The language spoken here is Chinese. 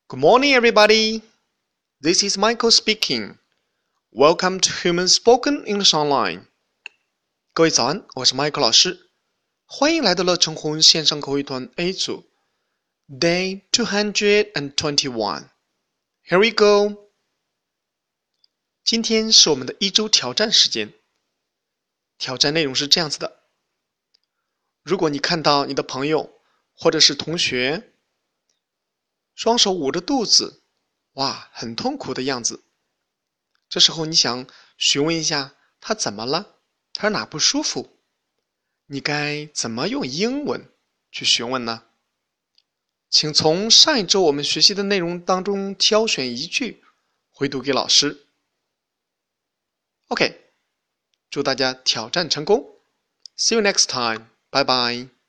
Good morning, everybody. This is Michael speaking. Welcome to Human Spoken English Online. 各位早安，我是 Michael 老师，欢迎来到乐成红线上口语团 A 组 Day 221. Here we go. 今天是我们的一周挑战时间。挑战内容是这样子的：如果你看到你的朋友或者是同学双手捂着肚子，哇，很痛苦的样子，这时候你想询问一下他怎么了，他哪不舒服，你该怎么用英文去询问呢？请从上一周我们学习的内容当中挑选一句回读给老师。 OK， 祝大家挑战成功。See you next time. Bye bye.